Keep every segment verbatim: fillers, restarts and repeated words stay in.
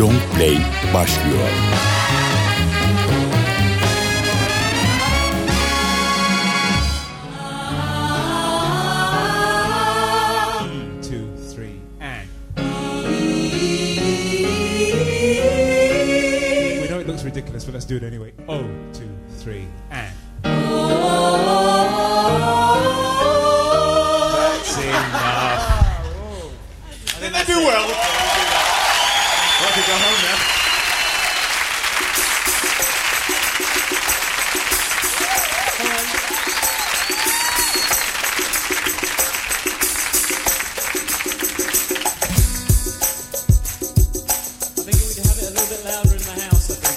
Long Play başlıyor. Ridiculous, but let's do it anyway. Oh, two, three, and. That's enough. I think they do well. Well, to go home now. I think we need to have it a little bit louder in my house, I think.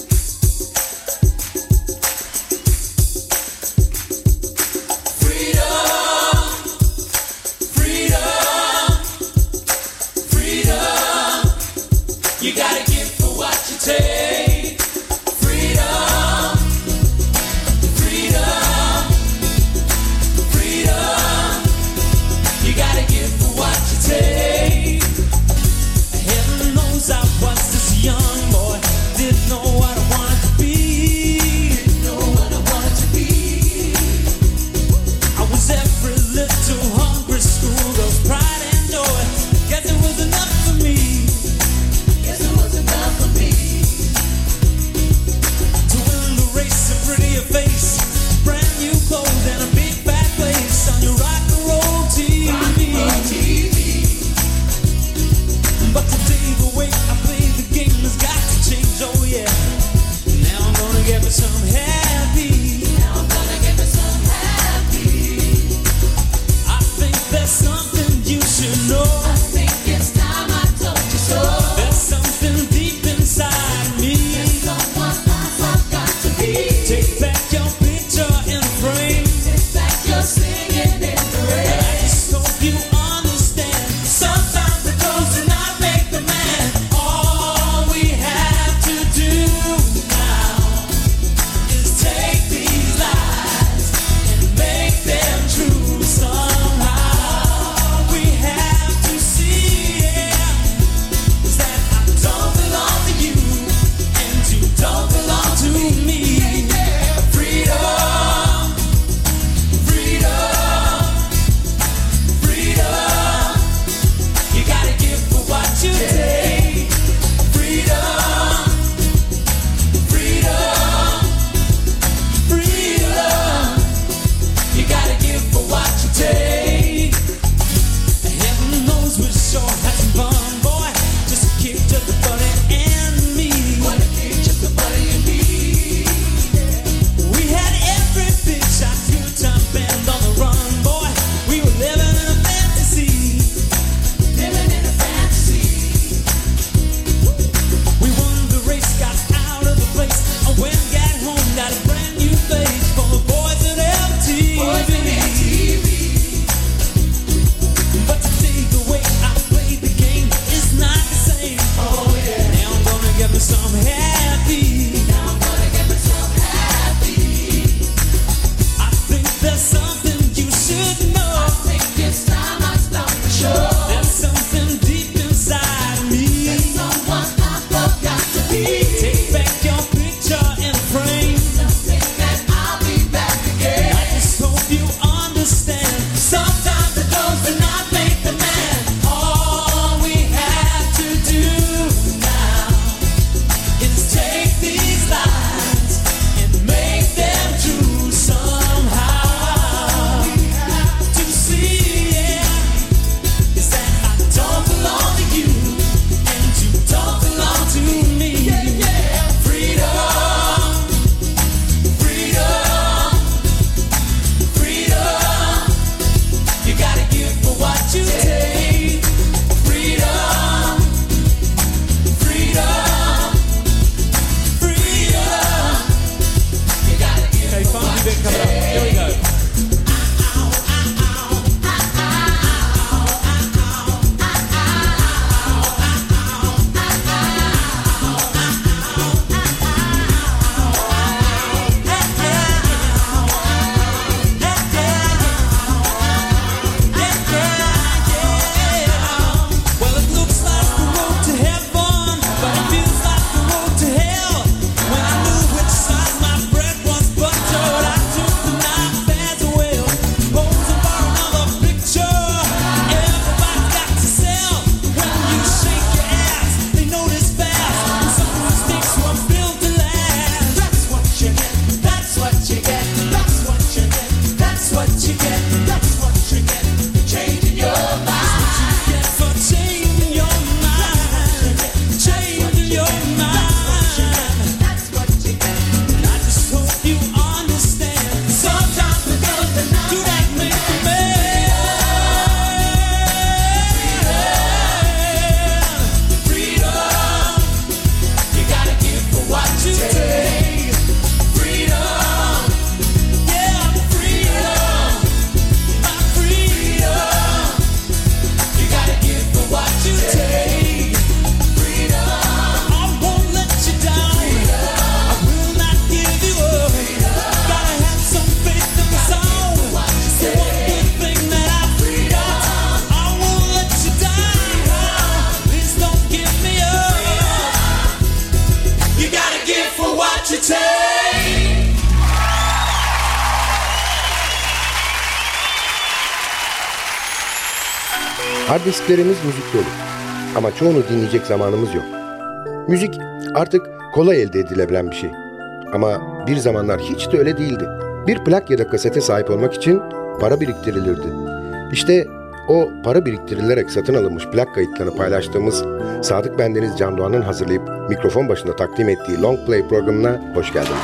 Take freedom, freedom, freedom. You gotta give for what you take. Heaven knows I was this young boy, didn't know what I wanted to be. Didn't know what I wanted to be. I was every little hungry schoolgirl's pride and joy. Guess it was enough for me. Guess it was enough for me. Prettier face, brand new clothes, and a big fat place on your rock and roll T V. Rock and roll T V. But today the way I play the game has got to change, oh yeah. Now I'm gonna get me some happy. Now I'm gonna get me some happy. I think there's something you should know. I think it's time I told you so. There's something deep inside me. There's someone I've got to be. Take back your picture in a frame. Take back your singing in the rain. I just hope you understand. Sometimes the clothes do not make the man. All we have to do now is take these lies and make them true somehow. We have to see, yeah, is that I don't belong to you and you don't belong to me. Freedom, freedom, freedom. You gotta give for what you take. Freedom, freedom, freedom. You gotta give for what you take. Heaven knows we sure had some fun, boy. Just a kick, just a buddy and me. What a kick, just a buddy and me. We had every big shot, good time band on the run, boy. We were living in a fantasy. Living in a fantasy. We won the race, got out of the place. I went and got home, got a brand new place for the boys at L T V. Boys in L T V. But today the way I play the game is not the same. Oh yeah. Now I'm gonna get me some happy. Now I'm gonna get me some happy. I think there's something you should know. I think it's time I stop the show. There's something deep inside me. There's someone I've got to be. Take back your picture in a frame. Something that I'll be back again. I just hope you understand. Sometimes the clothes do not make the man. All we have to do now is take these lies and make them true somehow. We have to see, yeah, is Hard disklerimiz müzik dolu. Ama çoğunu dinleyecek zamanımız yok. Müzik artık kolay elde edilebilen bir şey. Ama bir zamanlar hiç de öyle değildi. Bir plak ya da kasete sahip olmak için para biriktirilirdi. İşte o para biriktirilerek satın alınmış plak kayıtlarını paylaştığımız Sadık Bendeniz Can Doğan'ın hazırlayıp mikrofon başında takdim ettiği Long Play programına hoş geldiniz.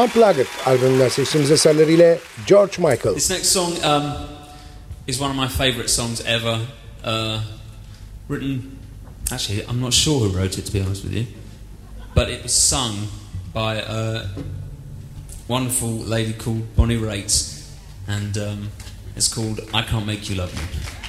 Unplugged albümünden seçtiğimiz eserleriyle George Michael. This next song um, is one of my favourite songs ever. Uh, written, actually, I'm not sure who wrote it, to be honest with you, but it was sung by a wonderful lady called Bonnie Raitt, and um, it's called I Can't Make You Love Me.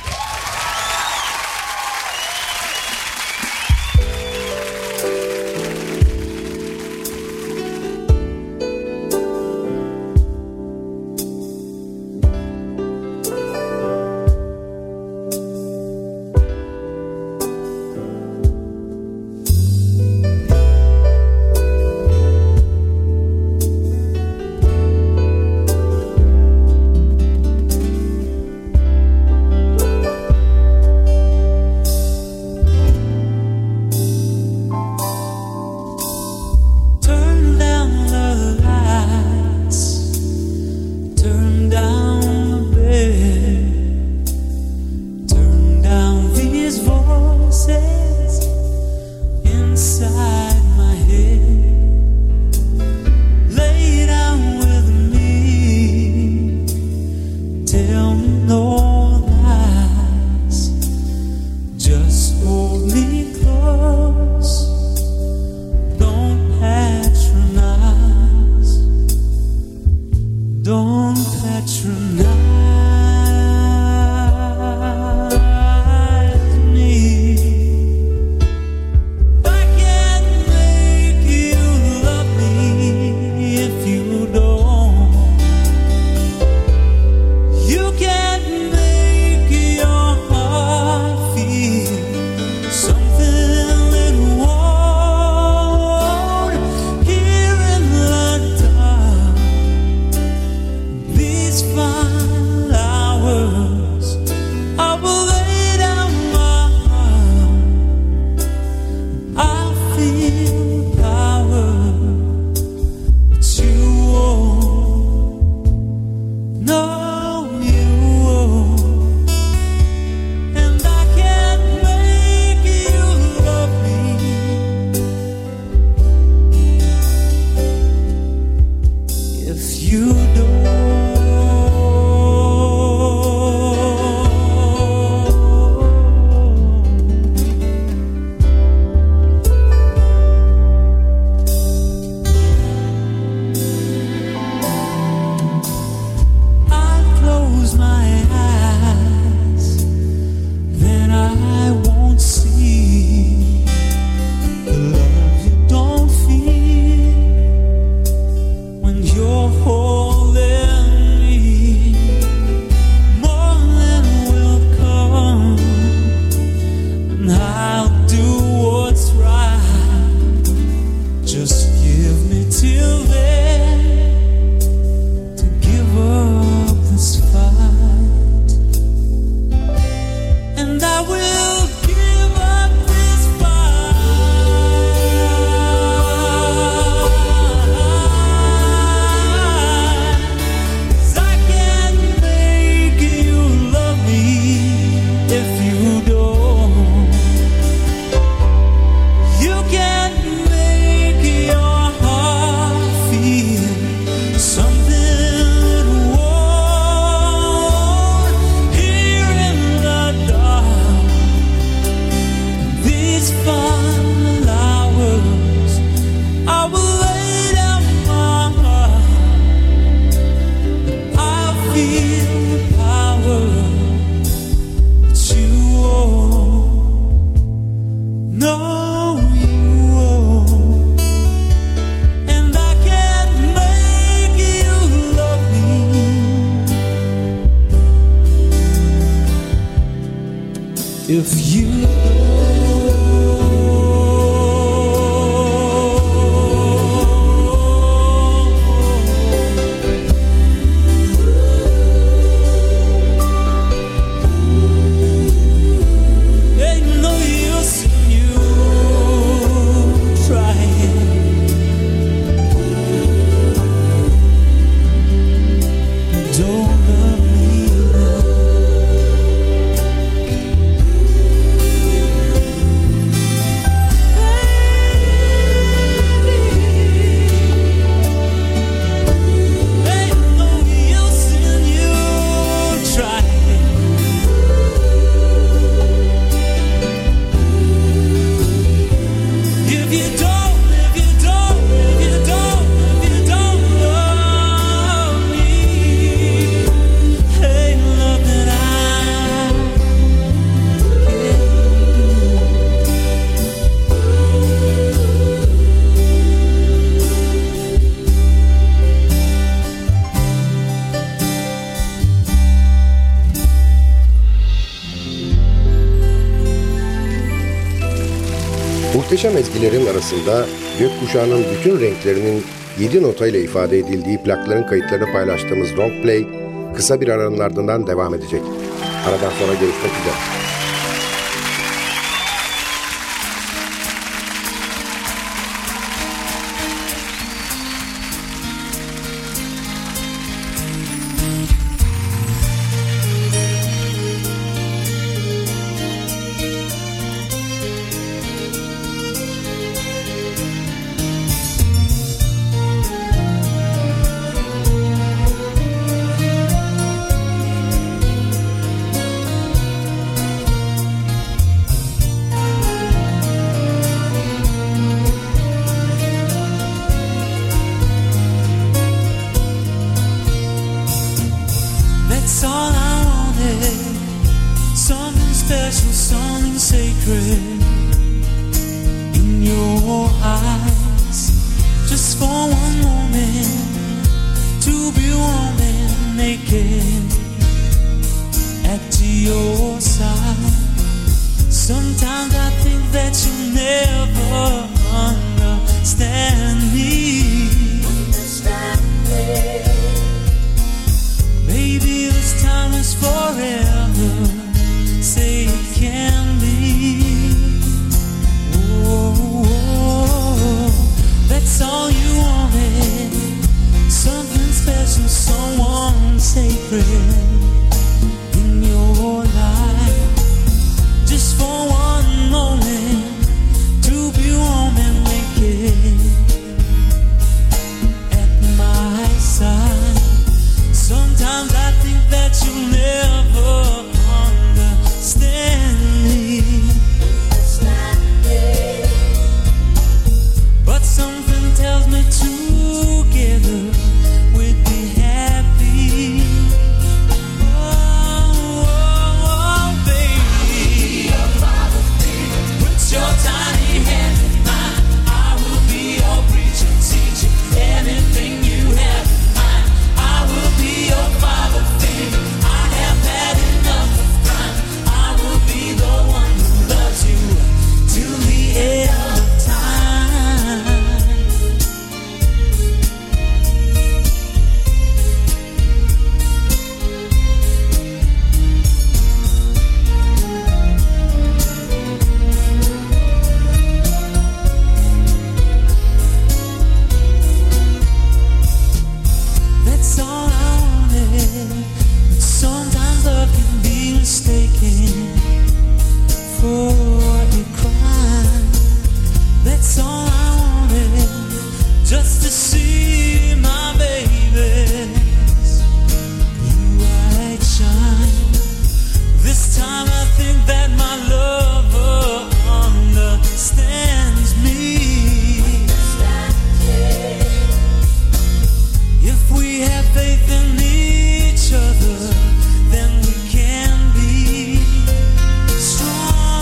If you Don't love me, love. Muhteşem ezgilerin arasında gökkuşağının bütün renklerinin yedi notayla ifade edildiği plakların kayıtlarını paylaştığımız Long Play kısa bir aranın ardından devam edecek. Aradan sonra görüşmek üzere. That's all I wanted. Something special, something sacred in your eyes. Just for one moment to be warm and naked at your side. Sometimes I think that you'll never understand me. Understand me. Maybe this time is forever. Say it can be. Oh, that's all you wanted. Something special, someone sacred in your life. Just for one moment to be warm and naked at my side. Sometimes I think that you'll never understand me. But something tells me together we'd be happy. Oh, oh, oh, baby. Put your tiny hand in mine. I will be your preacher, teacher, anything you have. I will be your father figure. I have had enough of crime. I will be the one who loves you till the end of time. That's all I wanted. But sometimes love can be mistaken for a crime. That's all I wanted, just to see my baby's blue eyes shine. This time I think that my lover understands me. If we have faith in each other, then we can be strong,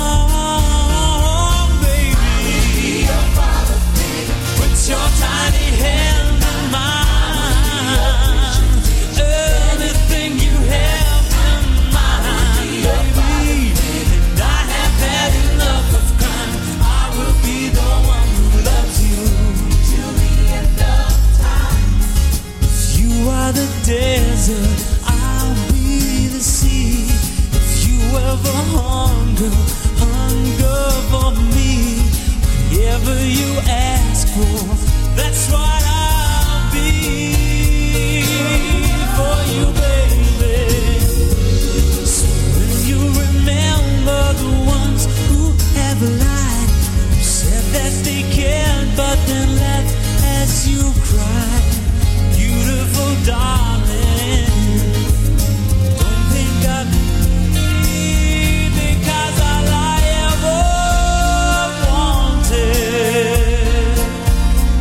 baby. Put your tiny hand in mine. Anything you have in mind, baby. And I have had enough of crime. I will be the one who loves you till the end of time. If you are the desert, I'll be the sea. If you ever hunger, hunger for me. Whatever you ask for, that's what I'll be for you, baby. So when you remember the ones who have lied, who said that they cared but then left as you cry, beautiful darling, don't think of me because all I ever wanted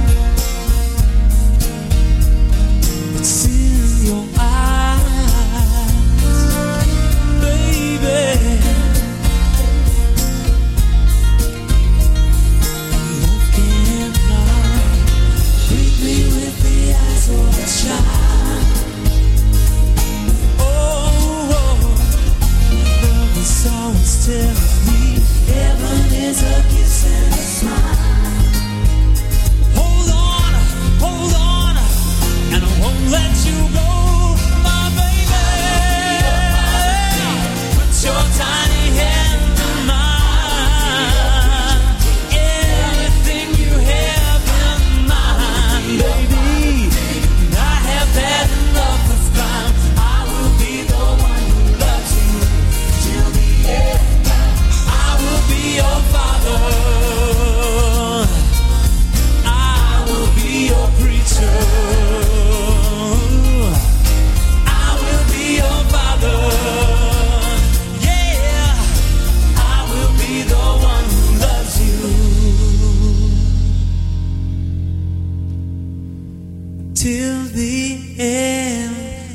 the end.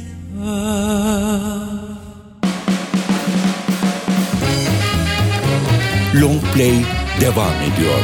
Long Play devam ediyor.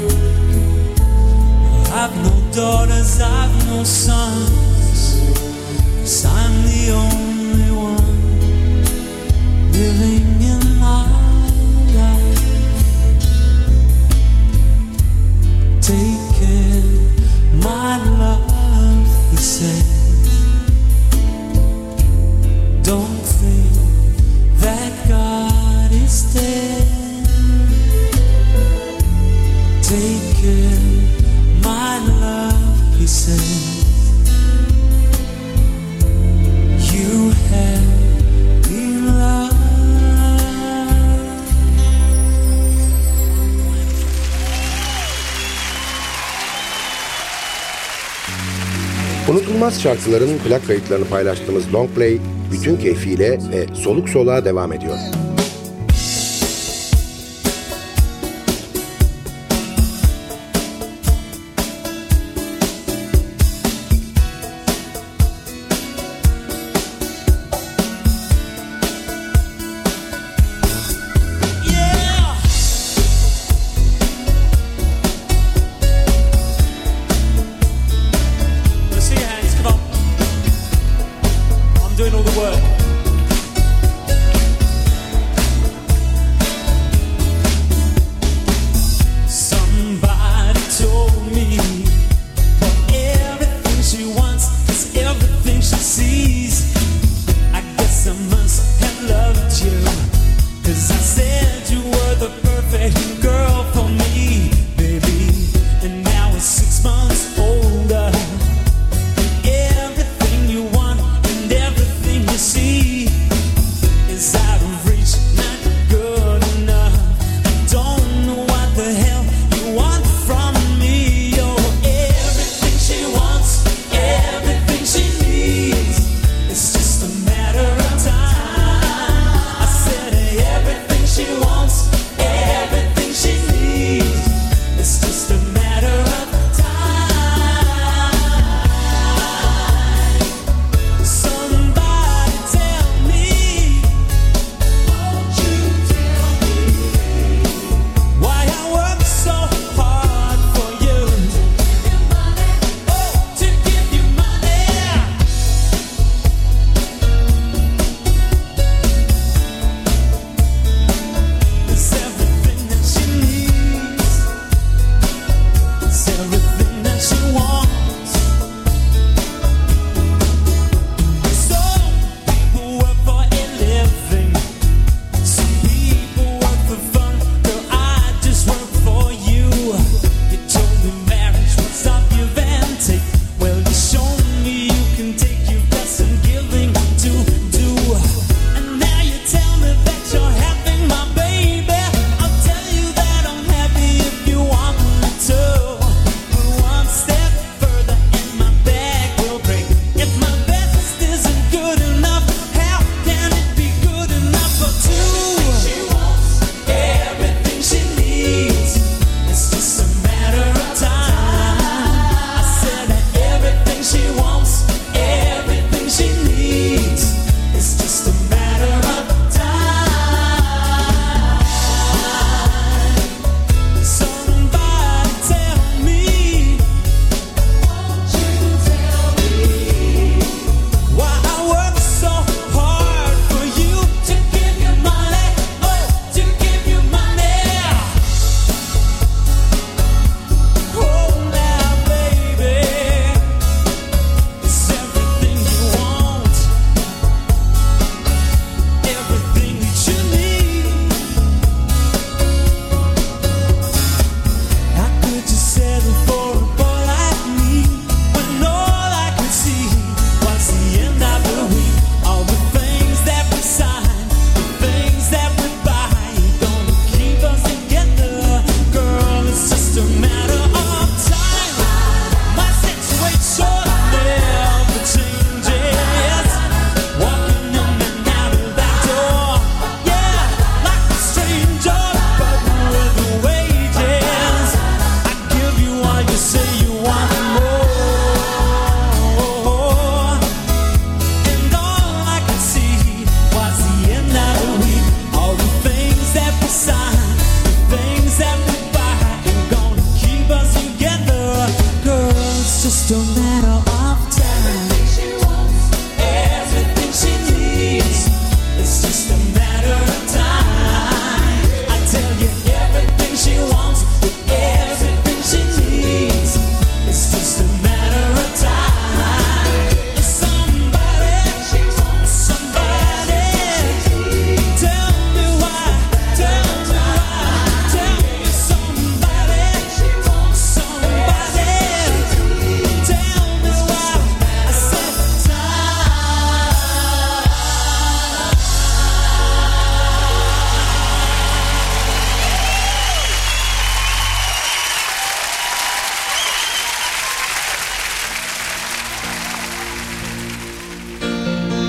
I've no daughters, I've no sons. Unutulmaz şarkıların plak kayıtlarını paylaştığımız Long Play bütün keyfiyle ve soluk soluğa devam ediyor. Doing all the work. Somebody told me that everything she wants is everything she sees. I guess I must have loved you, 'cause I said you were the perfect girl for me, baby. And now it's six months older. Everything you want and everything you see.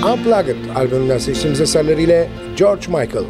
Unplugged albümünden seçtiğimiz eserleriyle George Michael.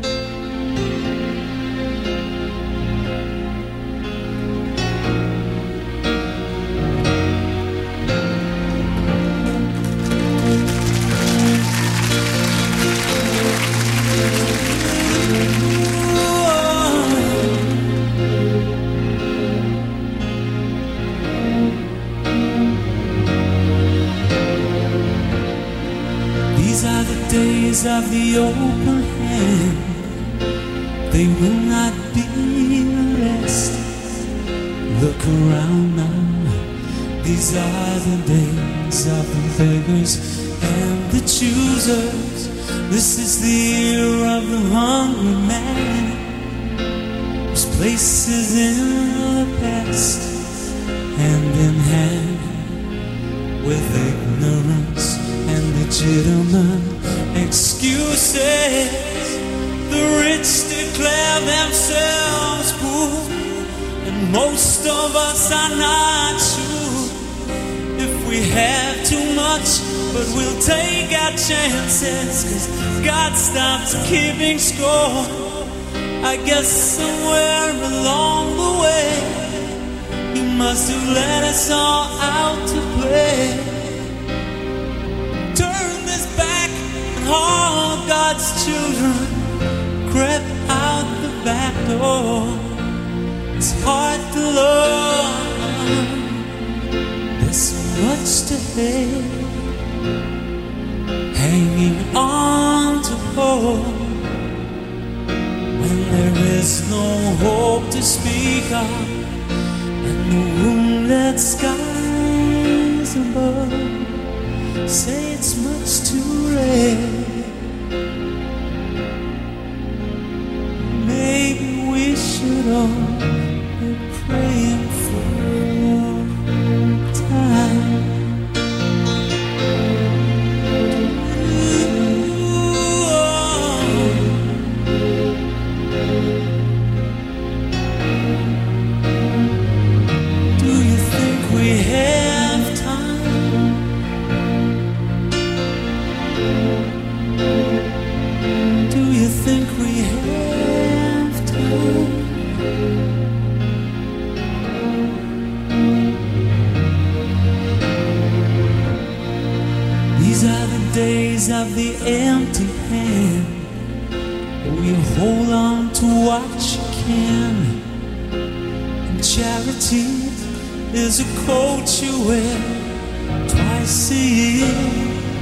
Of the open hand, they will not be the rest. Look around now, these are the days of the beggars and the choosers. This is the year of the hungry man, whose place is in the past, hand in hand with ignorance and legitimate excuses. The rich declare themselves poor, and most of us are not sure if we have too much, but we'll take our chances, 'cause God stops keeping score. I guess somewhere along the way He must have let us all out to play. All God's children crept out the back door. It's hard to love, there's so much to hate, hanging on to hope when there is no hope to speak of, and the moonlit skies above say it's much too late. Maybe we should all be praying for time. Do you think we have time? Do you think we have time? These are the days of the empty hand. We hold on to what you can, and charity is a coat you wear twice a year.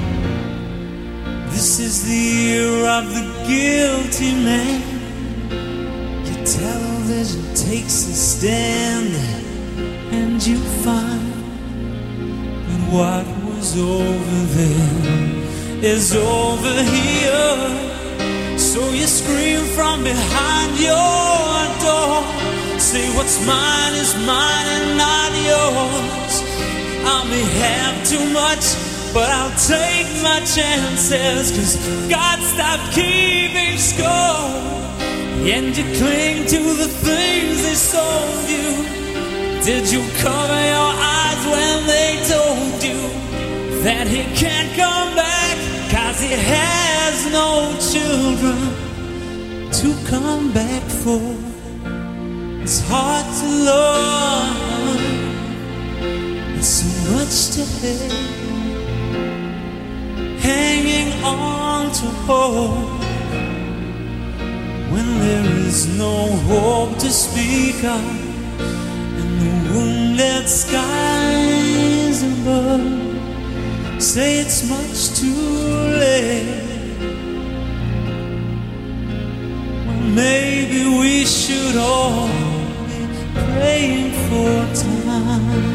This is the year of the guilty man. Your television takes a stand, and you find that what was over there is over here. So you scream from behind your door, say what's mine is mine and not yours. I may have too much, but I'll take my chances, 'cause God stopped keeping score. And you cling to the things they sold you. Did you cover your eyes when they told you that He can't come back, 'cause He has no children to come back for? It's hard to love, it's so much to hate, hanging on to hope when there is no hope to speak of, and the moonlit skies above say it's much too late. Well, maybe we should all be praying for time.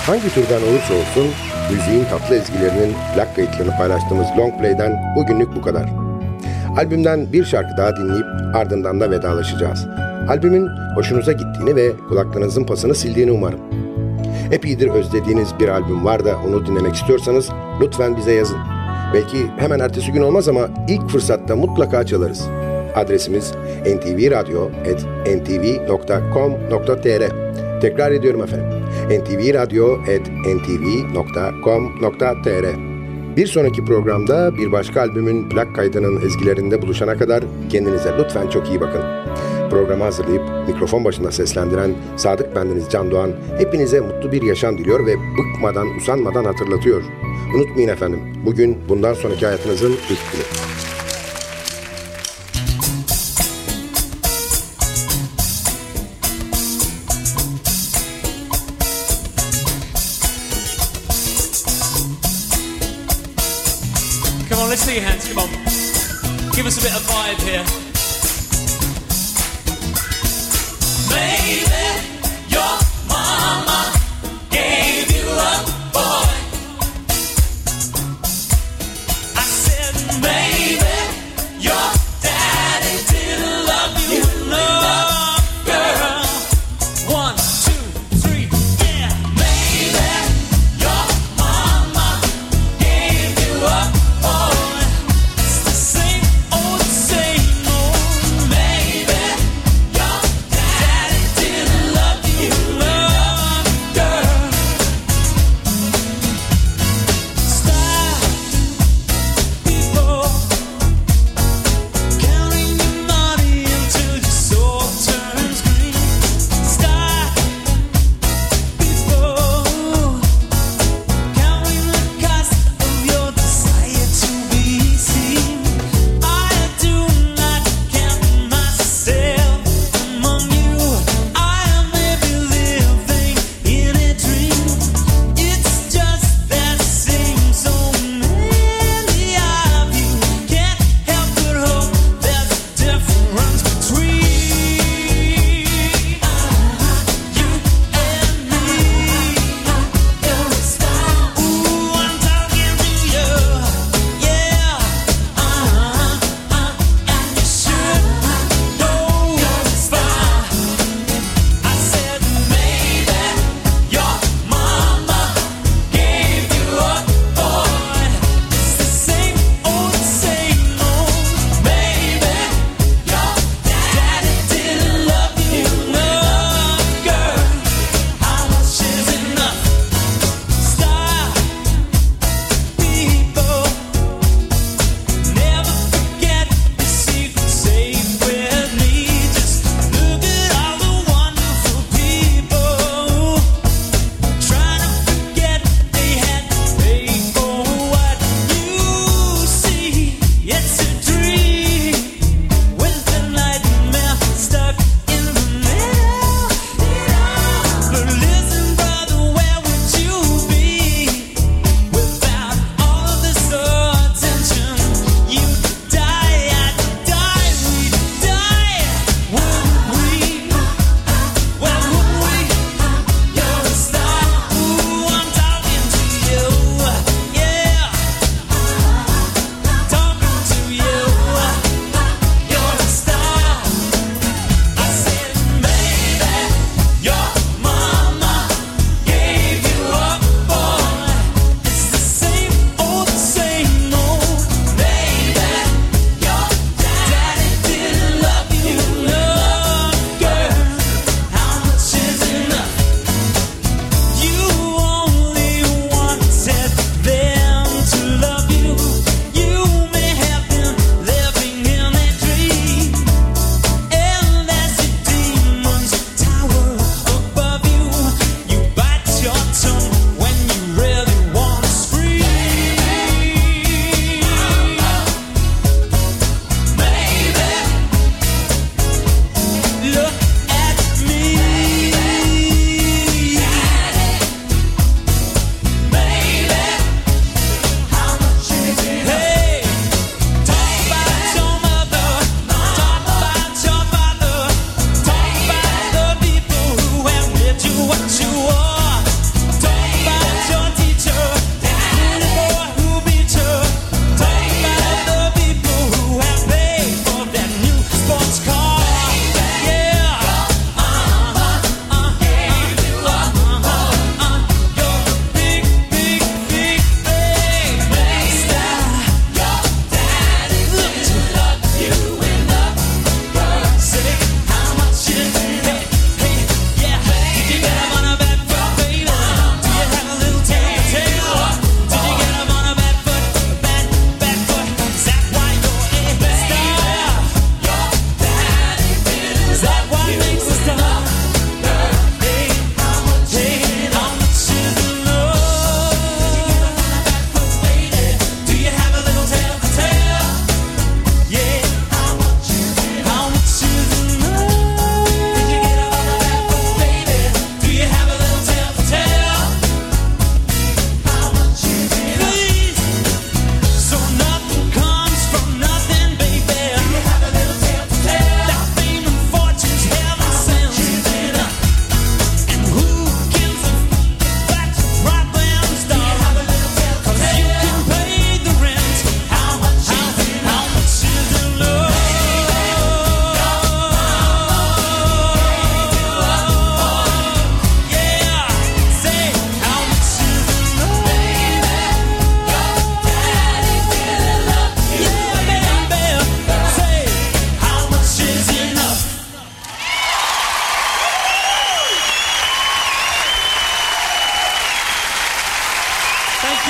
Hangi türden olursa olsun müziğin tatlı ezgilerinin plak kayıtlarını paylaştığımız Long Play'den bugünlük bu kadar. Albümden bir şarkı daha dinleyip ardından da vedalaşacağız. Albümün hoşunuza gittiğini ve kulaklarınızın pasını sildiğini umarım. Epeydir özlediğiniz bir albüm var da onu dinlemek istiyorsanız lütfen bize yazın. Belki hemen ertesi gün olmaz ama ilk fırsatta mutlaka çalarız. Adresimiz en ti vi radyo at en ti vi nokta com nokta te er. Tekrar ediyorum efendim. en ti vi radyo at en ti vi nokta com nokta te er. Bir sonraki programda bir başka albümün plak kaydının ezgilerinde buluşana kadar kendinize lütfen çok iyi bakın. Programı hazırlayıp mikrofon başında seslendiren Sadık bendeniz Can Doğan hepinize mutlu bir yaşam diliyor ve bıkmadan, usanmadan hatırlatıyor. Unutmayın efendim, bugün bundan sonraki hayatınızın ilk günü. Come on, let's see your hands, come on. Give us a bit of vibe here. Maybe your mama gave you a boy. I said maybe your daddy didn't love you enough, girl. One, two, three, yeah. Maybe your mama gave you a boy. It's the same old, same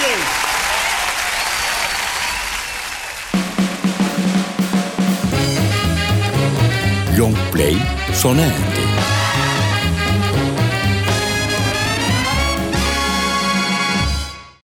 Long play sona erdi.